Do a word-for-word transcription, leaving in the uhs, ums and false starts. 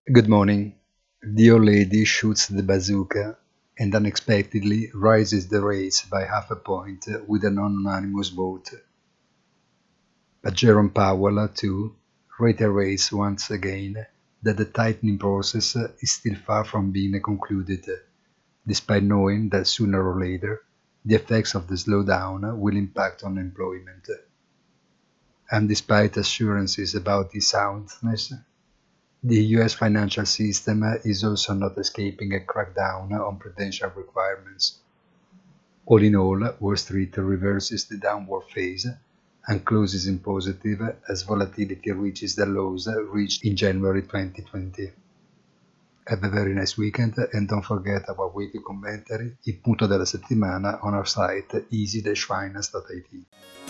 Good morning. The old lady shoots the bazooka and unexpectedly raises the rates by half a point with a non-unanimous vote. But Jerome Powell, too, reiterates once again that the tightening process is still far from being concluded, despite knowing that sooner or later the effects of the slowdown will impact on employment. And despite assurances about this soundness, the U S financial system is also not escaping a crackdown on prudential requirements. All in all, Wall Street reverses the downward phase and closes in positive as volatility reaches the lows reached in January twenty twenty. Have a very nice weekend and don't forget our weekly commentary, il punto della settimana on our site easy dash finance dot it.